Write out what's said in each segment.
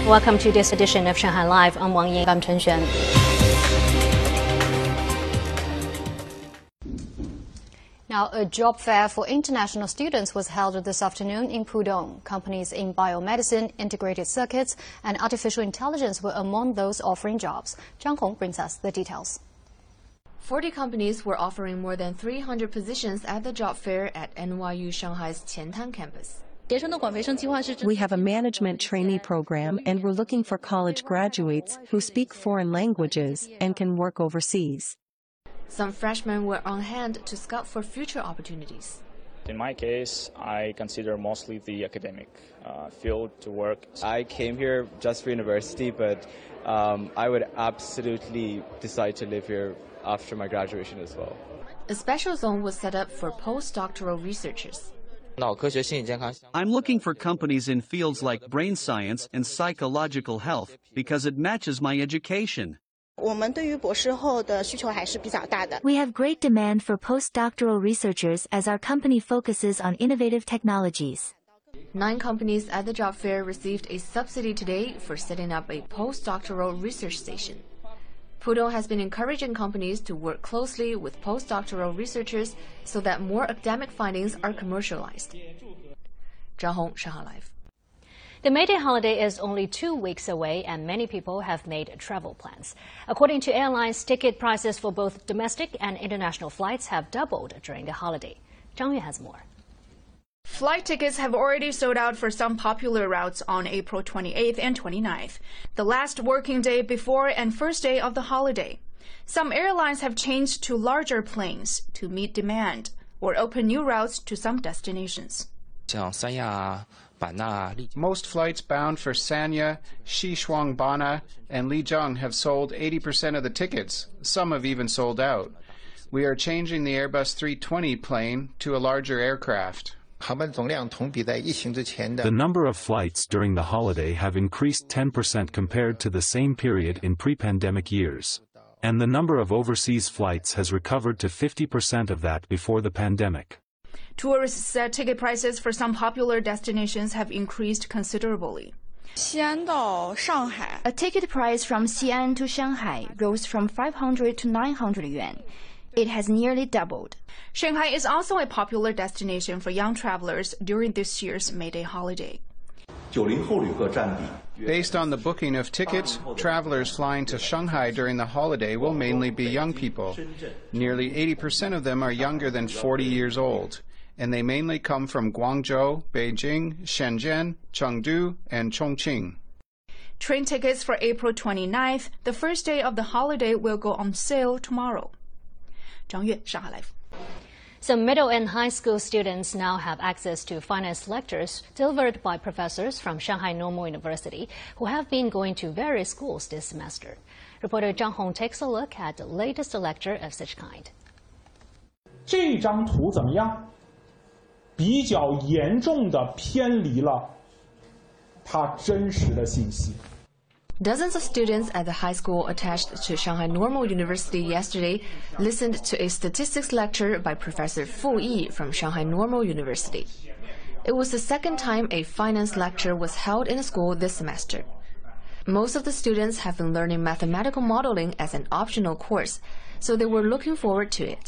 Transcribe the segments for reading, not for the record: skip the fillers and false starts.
Welcome to this edition of Shanghai Live. I'm Wang Ying. I'm Chen Xuan. Now, a job fair for international students was held this afternoon in Pudong. Companies in biomedicine, integrated circuits, and artificial intelligence were among those offering jobs. Zhang Hong brings us the details. 40 companies were offering more than 300 positions at the job fair at NYU Shanghai's Qiantan campus. We have a management trainee program and we're looking for college graduates who speak foreign languages and can work overseas. Some freshmen were on hand to scout for future opportunities. In my case, I consider mostly the academic field to work. I came here just for university, but I would absolutely decide to live here after my graduation as well. A special zone was set up for postdoctoral researchers. I'm looking for companies in fields like brain science and psychological health because it matches my education. We have great demand for postdoctoral researchers as our company focuses on innovative technologies. 9 companies at the job fair received a subsidy today for setting up a postdoctoral research station. Pudong has been encouraging companies to work closely with postdoctoral researchers so that more academic findings are commercialized. Zhang Hong, Shanghai Live. The May Day holiday is only 2 weeks away, and many people have made travel plans. According to airlines, ticket prices for both domestic and international flights have doubled during the holiday. Zhang Yue has more. Flight tickets have already sold out for some popular routes on April 28th and 29th, the last working day before and first day of the holiday. Some airlines have changed to larger planes to meet demand or open new routes to some destinations. Most flights bound for Sanya, Xishuang Bana, and Lijiang have sold 80% of the tickets. Some have even sold out. We are changing the Airbus 320 plane to a larger aircraft. The number of flights during the holiday have increased 10% compared to the same period in pre-pandemic years. And the number of overseas flights has recovered to 50% of that before the pandemic. Tourists said ticket prices for some popular destinations have increased considerably. A ticket price from Xi'an to Shanghai rose from 500 to 900 yuan. It has nearly doubled. Shanghai is also a popular destination for young travelers during this year's May Day holiday. Based on the booking of tickets, travelers flying to Shanghai during the holiday will mainly be young people. Nearly 80% of them are younger than 40 years old, and they mainly come from Guangzhou, Beijing, Shenzhen, Chengdu, and Chongqing. Train tickets for April 29th, the first day of the holiday, will go on sale tomorrow. Zhang Yue, Shanghai Live. Some middle and high school students now have access to finance lectures delivered by professors from Shanghai Normal University who have been going to various schools this semester. Reporter Zhang Hong takes a look at the latest lecture of such kind. 这张图怎么样？比较严重的偏离了它真实的信息。 Dozens of students at the high school attached to Shanghai Normal University yesterday listened to a statistics lecture by Professor Fu Yi from Shanghai Normal University. It was the second time a finance lecture was held in a school this semester. Most of the students have been learning mathematical modeling as an optional course, so they were looking forward to it.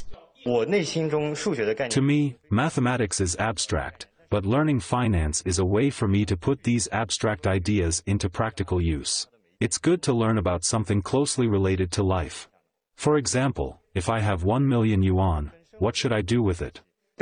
To me, mathematics is abstract, but learning finance is a way for me to put these abstract ideas into practical use. It's good to learn about something closely related to life. For example, if I have 1 million yuan, what should I do with it?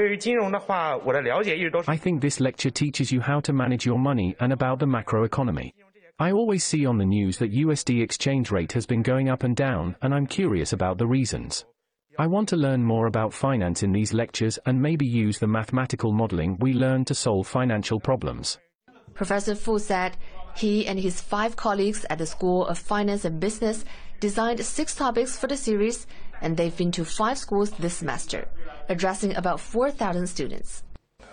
I think this lecture teaches you how to manage your money and about the macroeconomy. I always see on the news that USD exchange rate has been going up and down, and I'm curious about the reasons. I want to learn more about finance in these lectures and maybe use the mathematical modeling we learned to solve financial problems. Professor Fu said he and his 5 colleagues at the School of Finance and Business designed 6 topics for the series, and they've been to 5 schools this semester, addressing about 4,000 students.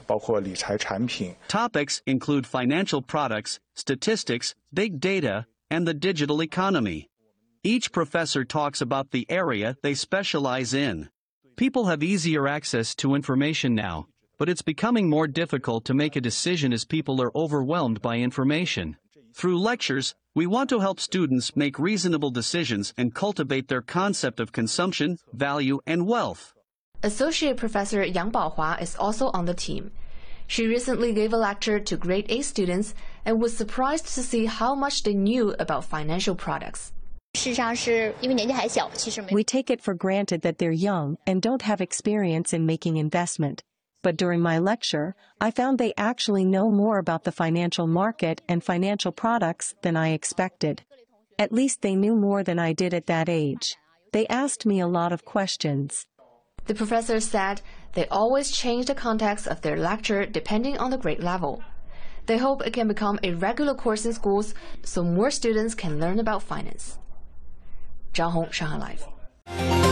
Topics include financial products, statistics, big data, and the digital economy. Each professor talks about the area they specialize in. People have easier access to information now, but it's becoming more difficult to make a decision as people are overwhelmed by information. Through lectures, we want to help students make reasonable decisions and cultivate their concept of consumption, value, and wealth. Associate Professor Yang Baohua is also on the team. She recently gave a lecture to grade A students and was surprised to see how much they knew about financial products. We take it for granted that they're young and don't have experience in making investment. But during my lecture, I found they actually know more about the financial market and financial products than I expected. At least they knew more than I did at that age. They asked me a lot of questions. The professor said they always change the context of their lecture depending on the grade level. They hope it can become a regular course in schools so more students can learn about finance. Zhang Hong, Shanghai Live.